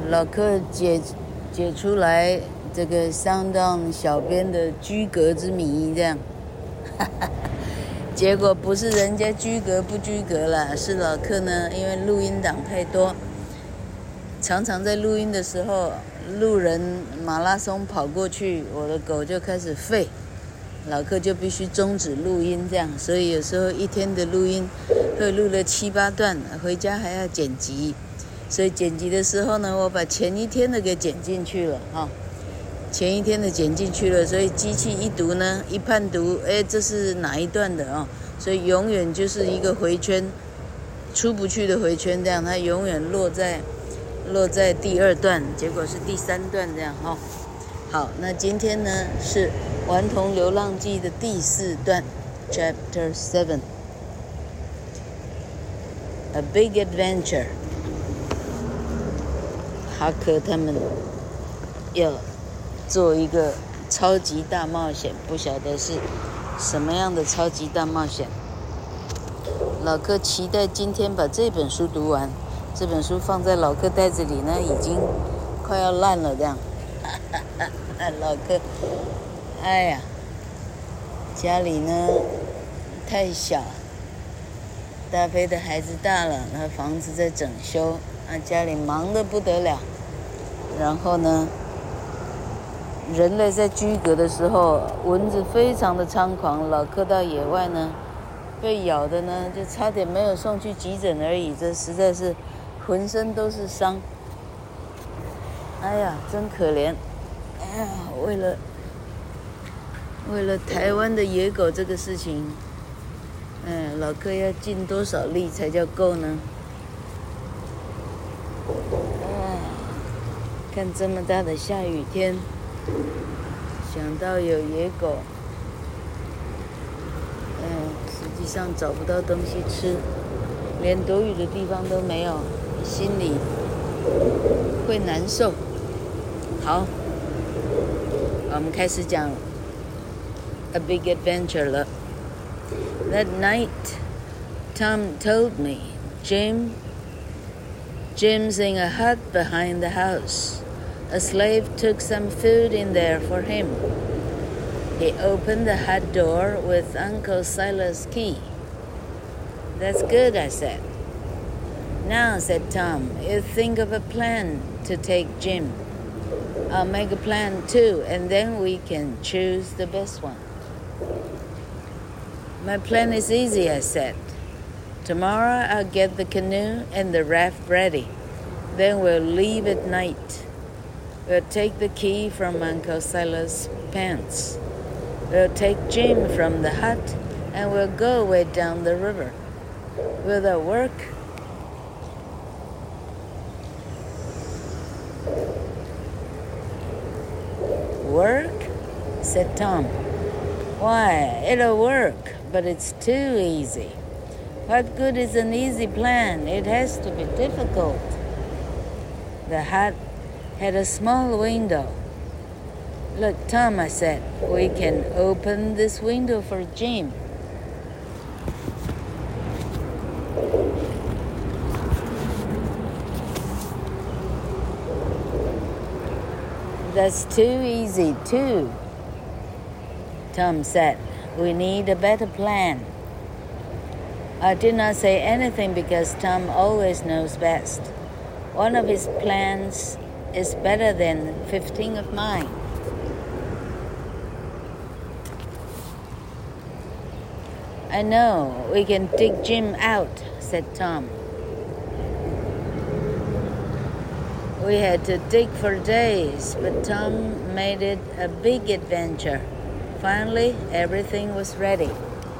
老客解出來這個相當小編的居格之謎，這樣，結果不是人家居格不居格啦，是老客呢，因為錄音檔太多，常常在錄音的時候，路人馬拉松跑過去，我的狗就開始吠，老客就必須終止錄音，這樣，所以有時候一天的錄音會錄了7、8段，回家還要剪輯。所以剪輯的時候呢，我把前一天的給剪進去了哈，前一天的剪進去了，所以機器一讀呢，一判讀，這是哪一段的哦？所以永遠就是一個回圈，出不去的回圈，這樣它永遠落在第2段，結果是第3段這樣哈。好，那今天呢是《頑童流浪記》的第4段 ，Chapter 7，A Big Adventure。哈克他们要做一個超級大冒險，不曉得是什麼樣的超級大冒險。老客期待今天把這本書讀完，這本書放在老客袋子裡呢，已經快要爛了這樣。老客，哎呀，家裡呢太小，大飛的孩子大了，那房子在整修。家裡忙得不得了，然後呢，人類在居格的時候，蚊子非常的猖狂。老客到野外呢，被咬的呢，就差點沒有送去急診而已。這實在是渾身都是傷。哎呀，真可憐！哎呀，為了台灣的野狗這個事情，老客要盡多少力才叫夠呢？看這麼大的下雨天，想到有野狗，實際上找不到東西吃，連躲雨的地方都沒有，心裡會難受。好，我們開始講 A Big Adventure 了。That night, Tom told me, Jim's in a hut behind the house. A slave took some food in there for him. He opened the hut door with Uncle Silas' key. That's good, I said. Now, said Tom, you think of a plan to take Jim. I'll make a plan too, and then we can choose the best one. My plan is easy, I said. Tomorrow I'll get the canoe and the raft ready. Then we'll leave at night. We'll take the key from Uncle Silas' pants. We'll take Jim from the hut and we'll go way down the river. Will that work? Work? Said Tom. Why, it'll work, but it's too easy. What good is an easy plan? It has to be difficult. The hut had a small window. Look, Tom, I said, we can open this window for Jim. That's too easy, too. Tom said, we need a better plan. I did not say anything because Tom always knows best. One of his plans is better than 15 of mine. I know, we can dig Jim out, said Tom. We had to dig for days, but Tom made it a big adventure. Finally, everything was ready.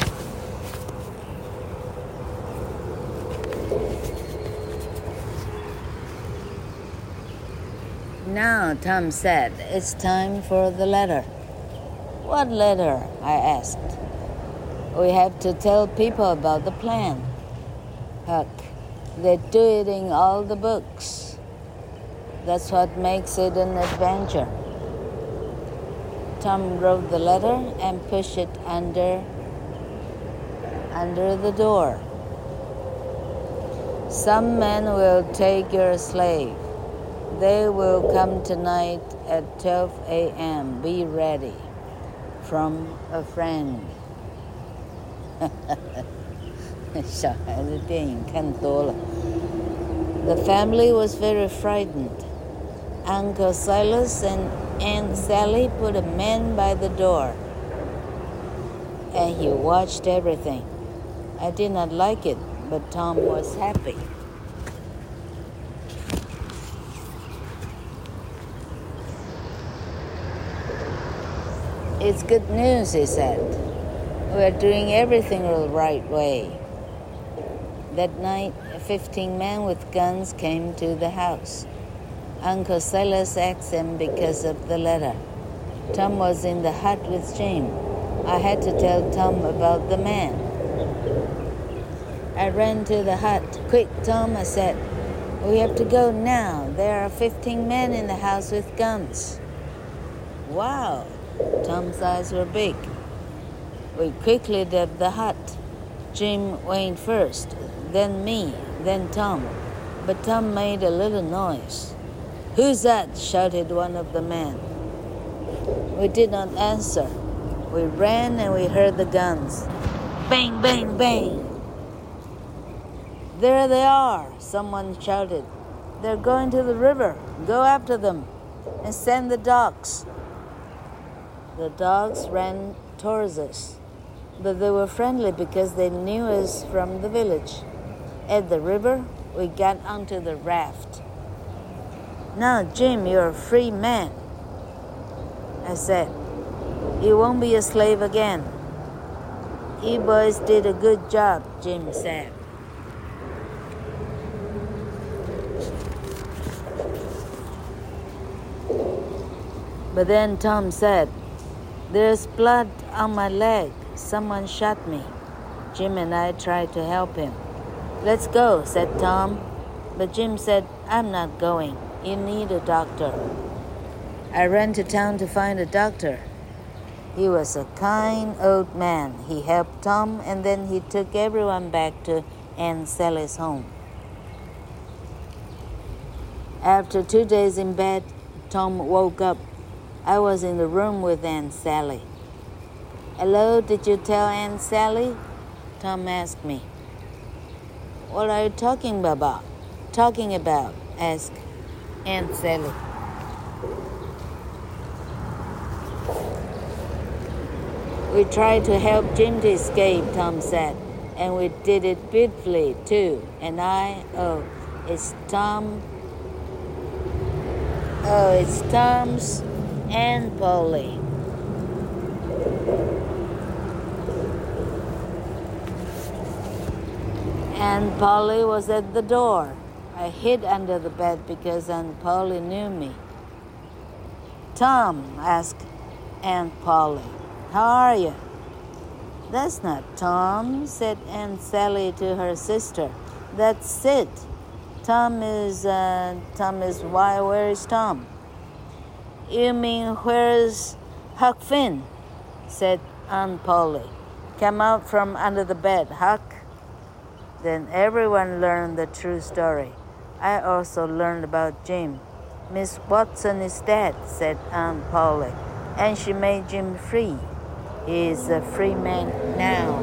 Now, Tom said, it's time for the letter. What letter? I asked. We have to tell people about the plan. Huck, they do it in all the books. That's what makes it an adventure. Tom wrote the letter and pushed it under the door. Some men will take your slave. They will come tonight at 12 a.m. Be ready. From a friend. 小孩子电影看多了。The family was very frightened. Uncle Silas and Aunt Sally put a man by the door, and he watched everything. I did not like it, but Tom was happy. It's good news, he said. We are doing everything the right way. That night, 15 men with guns came to the house. Uncle Silas asked them because of the letter. Tom was in the hut with Jim. I had to tell Tom about the man. I ran to the hut. Quick, Tom, I said. We have to go now. There are 15 men in the house with guns. Wow, Tom's eyes were big. We quickly left the hut. Jim went first, then me, then Tom. But Tom made a little noise. Who's that? Shouted one of the men. We did not answer. We ran and we heard the guns. Bang, bang, bang. There they are, someone shouted. They're going to the river. Go after them and send the dogs. The dogs ran towards us, but they were friendly because they knew us from the village. At the river, we got onto the raft. Now, Jim, you're a free man, I said. You won't be a slave again. You boys did a good job, Jim said. But then Tom said, There's blood on my leg. Someone shot me. Jim and I tried to help him. Let's go, said Tom. But Jim said, I'm not going. You need a doctor. I ran to town to find a doctor. He was a kind old man. He helped Tom, and then he took everyone back to Aunt Sally's home. After 2 days in bed, Tom woke up. I was in the room with Aunt Sally. Hello, did you tell Aunt Sally? Tom asked me. What are you talking about? Asked Aunt Sally. We tried to help Jim to escape, Tom said, and we did it beautifully too. And it's Tom's Aunt Polly. Aunt Polly was at the door. I hid under the bed because Aunt Polly knew me. Tom, asked Aunt Polly, how are you? That's not Tom, said Aunt Sally to her sister. That's Sid. Tom is why? Where is Tom? You mean where's Huck Finn? Said Aunt Polly. Come out from under the bed, Huck. Then everyone learned the true story. I also learned about Jim. Miss Watson is dead, said Aunt Polly, and she made Jim free. He is a free man now.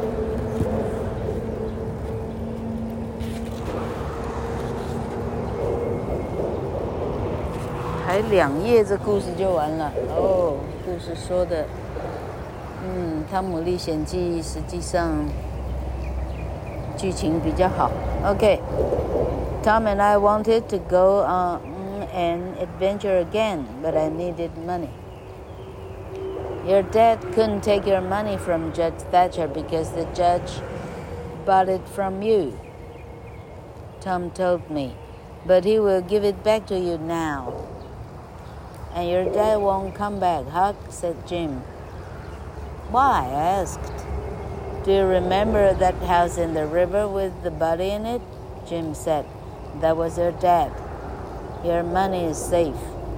还2页，这故事就完了哦。故事说的，《汤姆历险记》实际上剧情比较好。Okay, Tom and I wanted to go on an adventure again, but I needed money. Your dad couldn't take your money from Judge Thatcher because the judge bought it from you, Tom told me, but he will give it back to you now. And your dad won't come back, Huck, said Jim. Why? I asked. Do you remember that house in the river with the body in it? Jim said. That was your dad. Your money is safe.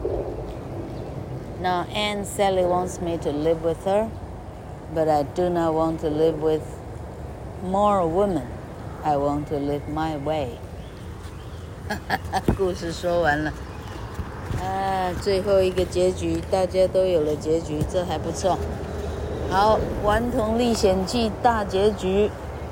Now Aunt Sally wants me to live with her, but I do not want to live with more women. I want to live my way. 故事说完了。 最後一個結局，大家都有了結局，這還不錯。好，《頑童歷險記》大結局。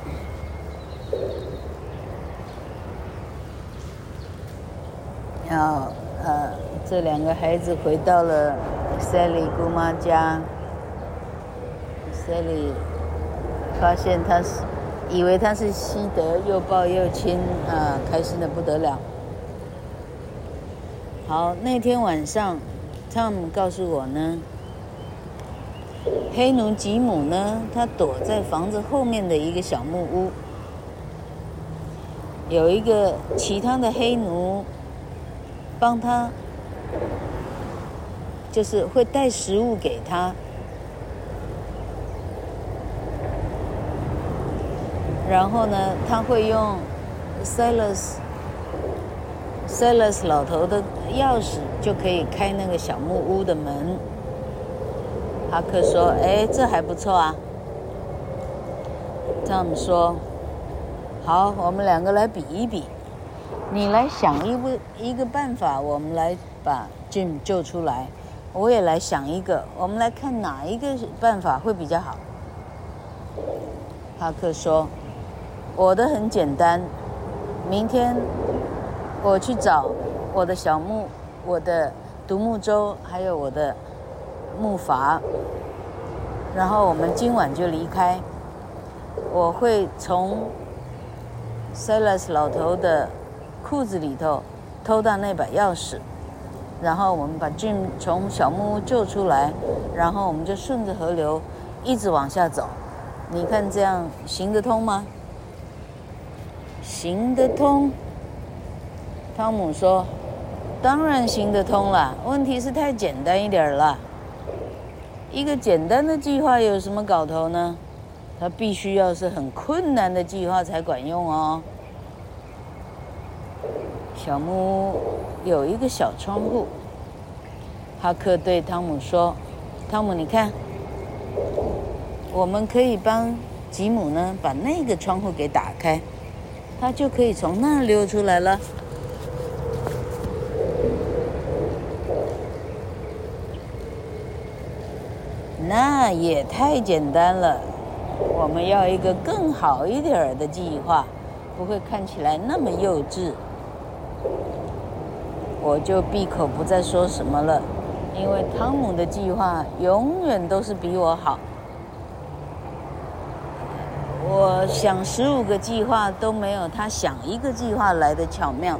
這兩個孩子回到了 Sally 姑媽家。Sally 發現以為他是西德，又抱又親，開心得不得了。好，那天晚上 ，Tom 告訴我呢，黑奴吉姆呢，他躲在房子後面的一個小木屋，有一個其他的黑奴幫他，就是會帶食物給他，然後呢，他會用 Silas 老頭的鑰匙就可以開那個小木屋的門。哈克說：“這還不錯啊。”湯姆說：“好，我們兩個來比一比，你來想一個辦法，我們來把 Jim 救出來。我也來想一個，我們來看哪一個辦法會比較好。”哈克說：“我的很簡單，明天我去找我的小木、我的獨木舟，還有我的木筏，然後我們今晚就離開。我會從 Silas 老頭的褲子裡頭偷到那把鑰匙，然後我們把 Jim 從小木屋救出來，然後我們就順着河流一直往下走。你看這樣行得通嗎？”行得通。湯姆說：“當然行得通了，問題是太簡單一點了。一個簡單的計劃有什麼搞頭呢？它必須要是很困難的計劃才管用哦。”小木屋有一個小窗戶。哈克對湯姆說：“湯姆，你看，我們可以幫吉姆呢把那個窗戶給打開，他就可以從那兒溜出來了。”那也太簡單了，我們要一個更好一點的計劃，不會看起來那麼幼稚。我就閉口不再說什麼了，因為湯姆的計劃永遠都是比我好。我想15個計劃都沒有他想一個計劃來的巧妙。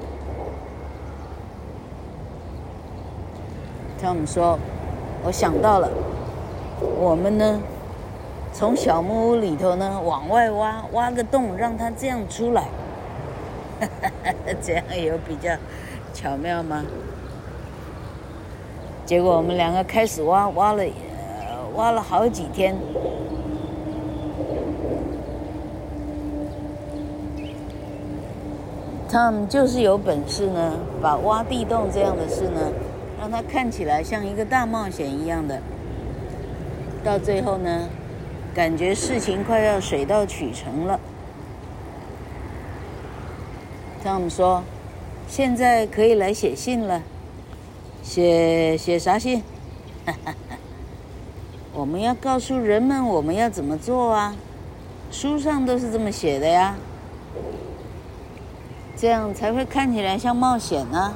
湯姆說：“我想到了。我們呢，從小木屋裡頭呢往外挖個洞，讓它這樣出來。這樣有比較巧妙嗎？”結果我們兩個開始挖了好幾天。Tom 就是有本事呢，把挖地洞這樣的事呢，讓它看起來像一個大冒險一樣的。到最後呢，感覺事情快要水到渠成了。Tom 說：“現在可以來寫信了。寫啥信？我們要告訴人們我們要怎麼做啊，書上都是這麼寫的呀，這樣才會看起來像冒險啊。”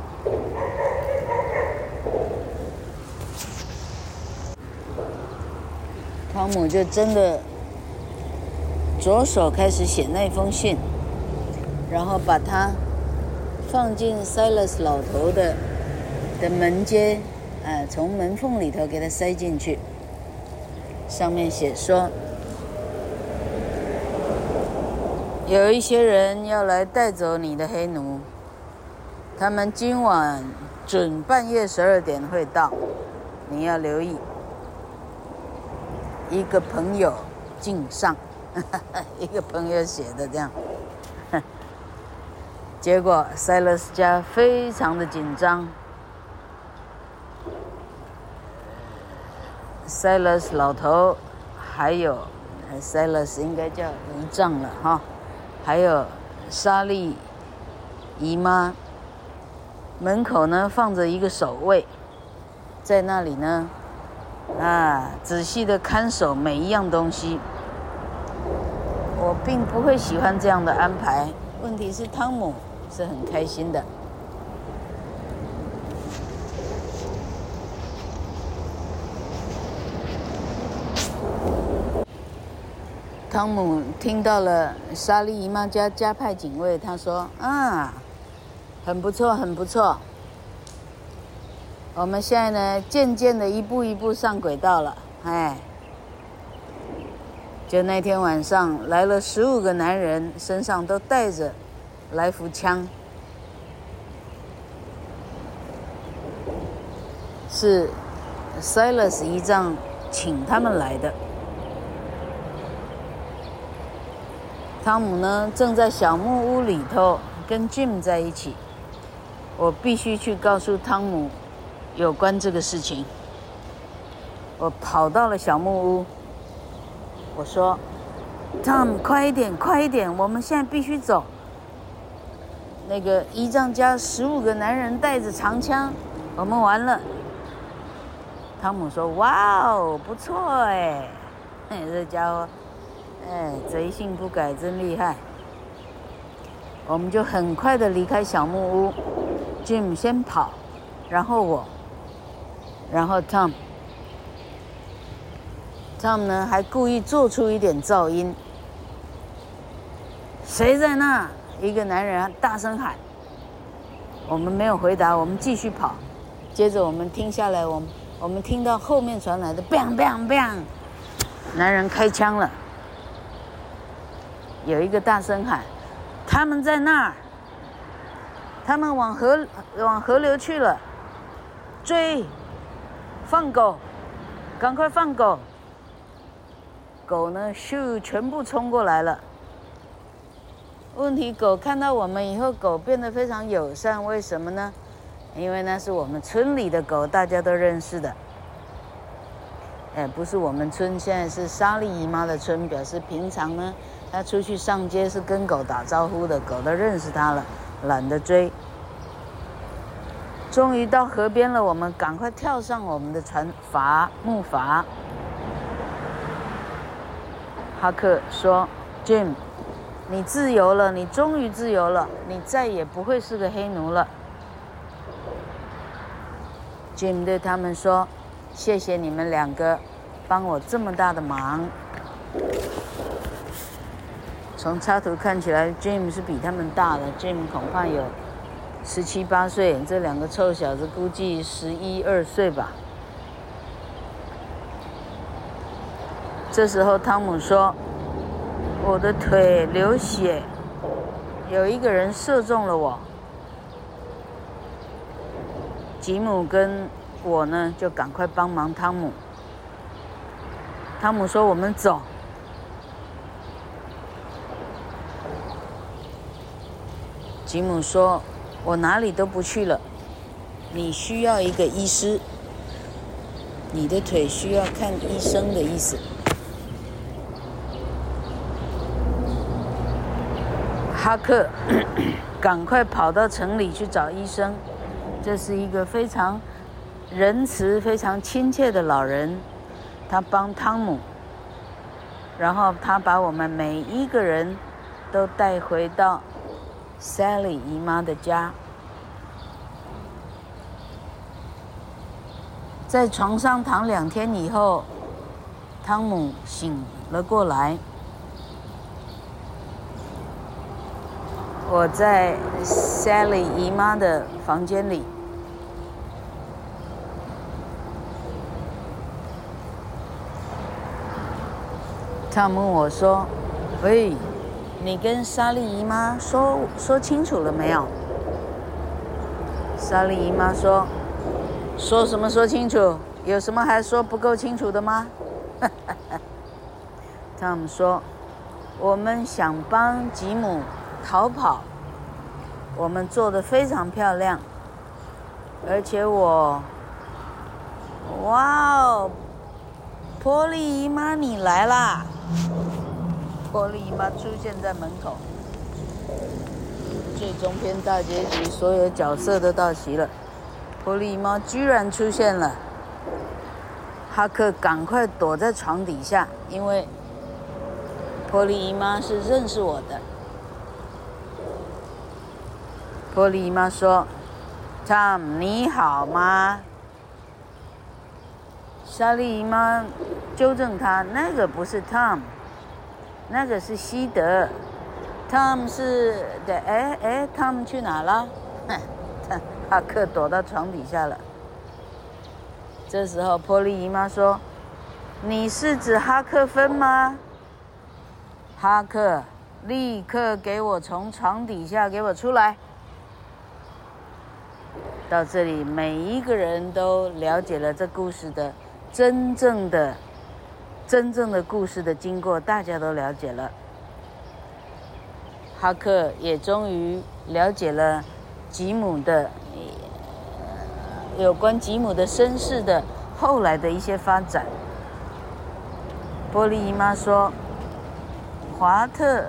湯姆就真的着手開始寫那封信，然後把它放進 Silas 老頭的門階，從門縫裡頭給它塞進去。上面寫說，有一些人要來帶走你的黑奴，他們今晚準半夜12點會到，你要留意。一個朋友敬上，一個朋友寫的這樣。結果 Silas 家非常的緊張。Silas 老頭，還有 Silas 應該叫姨丈了哈，還有莎莉姨媽， 門口呢放着一個守衛，在那裡呢，仔細的看守每一樣東西。我並不會喜歡這樣的安排，問題是湯姆是很開心的。湯姆聽到了莎莉姨媽家加派警衛，他說：“很不錯，很不錯。我們現在呢，漸漸的一步一步上軌道了。”就那天晚上來了15個男人，身上都帶着來福槍，是 Silas 姨丈請他們來的。湯姆呢，正在小木屋裡頭跟 Jim 在一起。我必須去告訴湯姆有關這個事情。我跑到了小木屋，我說 ：“Tom， 快一點，快一點，我們現在必須走。那個姨丈家15個男人帶着長槍，我們完了。”湯姆說：“哇哦，不錯哎，這家伙。”賊性不改，真厲害。我們就很快的離開小木屋 ，Jim 先跑，然後我，然後 Tom 呢還故意做出一點噪音。誰在那？一個男人大聲喊。我們沒有回答，我們繼續跑。接着我們停下來，我們聽到後面傳來的 bang bang bang， 男人開槍了。有一個大聲喊：“他們在那兒，他們往河流去了，追，放狗，趕快放狗！”狗呢，咻，全部衝過來了。問題，狗看到我們以後，狗變得非常友善，為什麼呢？因為那是我們村裡的狗，大家都認識的。不是我們村，現在是莎莉姨媽的村，表示平常呢，他出去上街是跟狗打招呼的，狗都認識他了，懶得追。終於到河邊了，我們趕快跳上我們的木筏。哈克說 ：“Jim， 你自由了，你終於自由了，你再也不會是個黑奴了。” Jim 對他們說：“謝謝你們2個，幫我這麼大的忙。”從插圖看起來 ，Jim 是比他們大的 ，Jim 恐怕有17、18歲，這2個臭小子估計11、12歲吧。這時候湯姆說：“我的腿流血，有一個人射中了我。”吉姆跟我呢，就趕快幫忙湯姆。湯姆說：“我們走。”吉姆說：“我哪裡都不去了，你需要一個醫師，你的腿需要看醫生的意思。”哈克趕快跑到城裡去找醫生。這是一個非常仁慈、非常親切的老人，他幫湯姆，然後他把我們每一個人都帶回到 Sally 姨媽的家。在床上躺2天以後，湯姆醒了過來。我在 Sally 姨媽的房間裡，湯姆問我說：“喂，你跟莎莉姨媽說清楚了沒有？”莎莉姨媽說：“說什麼說清楚？有什麼還說不夠清楚的嗎？”湯姆說：“我們想幫吉姆逃跑，我們做得非常漂亮，而且哇哦，波莉姨媽你來啦！”波莉姨媽出現在門口， 最終篇大結局，所有角色都到齊了。波利姨媽居然出現了，哈克趕快躲在床底下，因為波利姨媽是認識我的。波利姨媽說 ：“Tom， 你好嗎？”莎莉姨媽糾正他：“那個不是 Tom， 那個是西德。Tom 是的，Tom 去哪了？”哈克躲到床底下了。這時候，波利姨媽說：“你是指哈克芬嗎？”哈克立刻給我從床底下給我出來。到這裡，每一個人都了解了這故事的真正的故事的經過，大家都了解了。哈克也終於了解了吉姆的有關吉姆的身世的後來的一些發展。波利姨媽說：“華特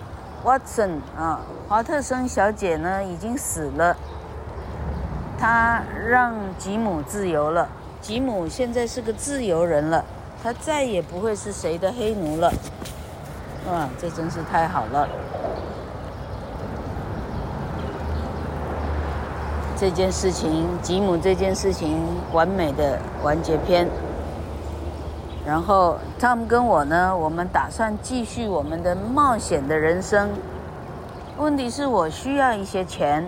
森小姐呢已經死了，她讓吉姆自由了。吉姆現在是個自由人了，他再也不會是誰的黑奴了。哇，這真是太好了！這件事情，吉姆這件事情完美的完結篇。然後Tom跟我呢，我們打算繼續我們的冒險的人生。問題是我需要一些錢。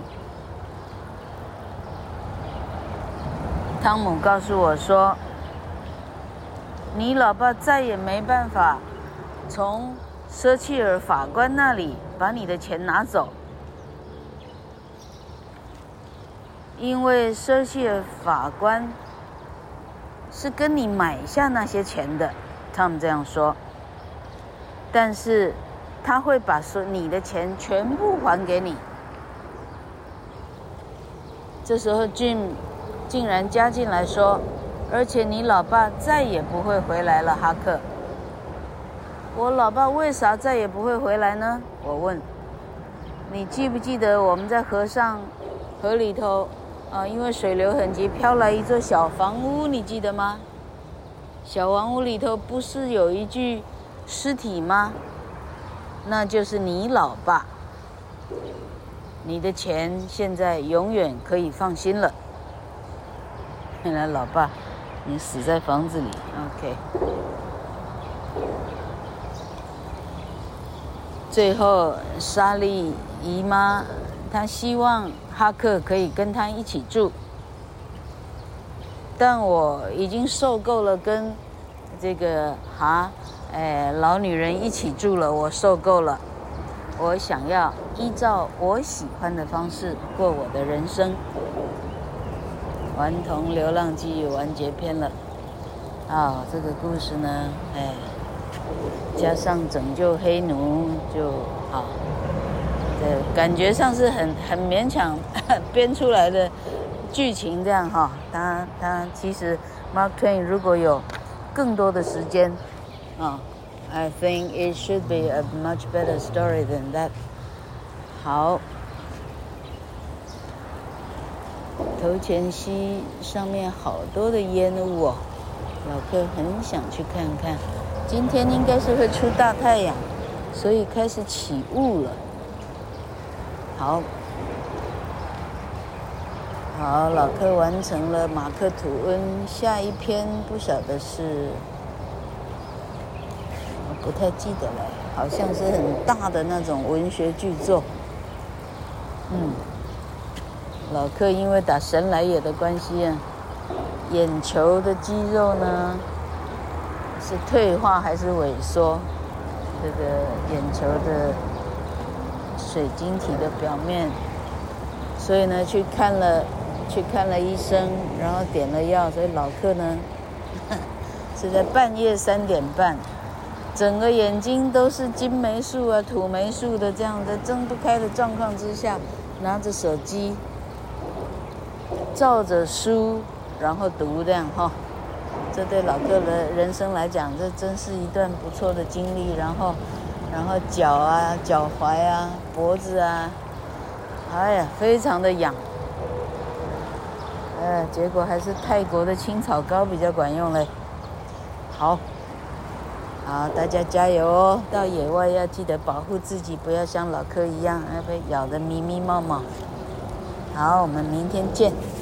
湯姆告訴我說：“你老爸再也沒辦法從舍契爾法官那裡把你的錢拿走，因為舍契爾法官是跟你買下那些錢的。”湯姆這樣說。但是他會把你的錢全部還給你。這時候 Jim 竟然加進來說：“而且你老爸再也不會回來了，哈克。”我老爸為啥再也不會回來呢？我問。你記不記得我們在河裡頭因為水流很急，飄來一座小房屋，你記得嗎？小房屋裡頭不是有一具屍體嗎？那就是你老爸。你的錢現在永遠可以放心了。原來老爸，你死在房子裡。OK。最後，莎莉姨媽她希望哈克可以跟她一起住，但我已經受夠了跟這個老女人一起住了，我受夠了。我想要依照我喜歡的方式過我的人生。頑童流浪記完結篇了。這個故事呢，加上拯救黑奴就好。感覺上是很勉強編出來的劇情這樣哈。他其實 Mark Twain 如果有更多的時間I think it should be a much better story than that。好。头前溪上面好多的煙霧哦，老柯很想去看看。今天應該是會出大太陽，所以開始起霧了。好，老柯完成了馬克吐溫，下一篇不曉得是，我不太記得了，好像是很大的那種文學巨作。老柯因為打神來也的關係眼球的肌肉呢是退化還是萎縮？這個眼球的水晶體的表面，所以呢去看了醫生，然後點了藥，所以老柯呢是在半夜3點半，整個眼睛都是金黴素土黴素的這樣的睜不開的狀況之下，拿着手機照着書然後讀這樣這對老柯的人生來講，這真是一段不錯的經歷。然後腳啊、腳踝啊、脖子啊， 哎呀，非常的癢。結果還是泰國的青草膏比較管用嘞。好，大家加油哦！到野外要記得保護自己，不要像老柯一樣被咬得咪咪冒冒。好，我們明天見。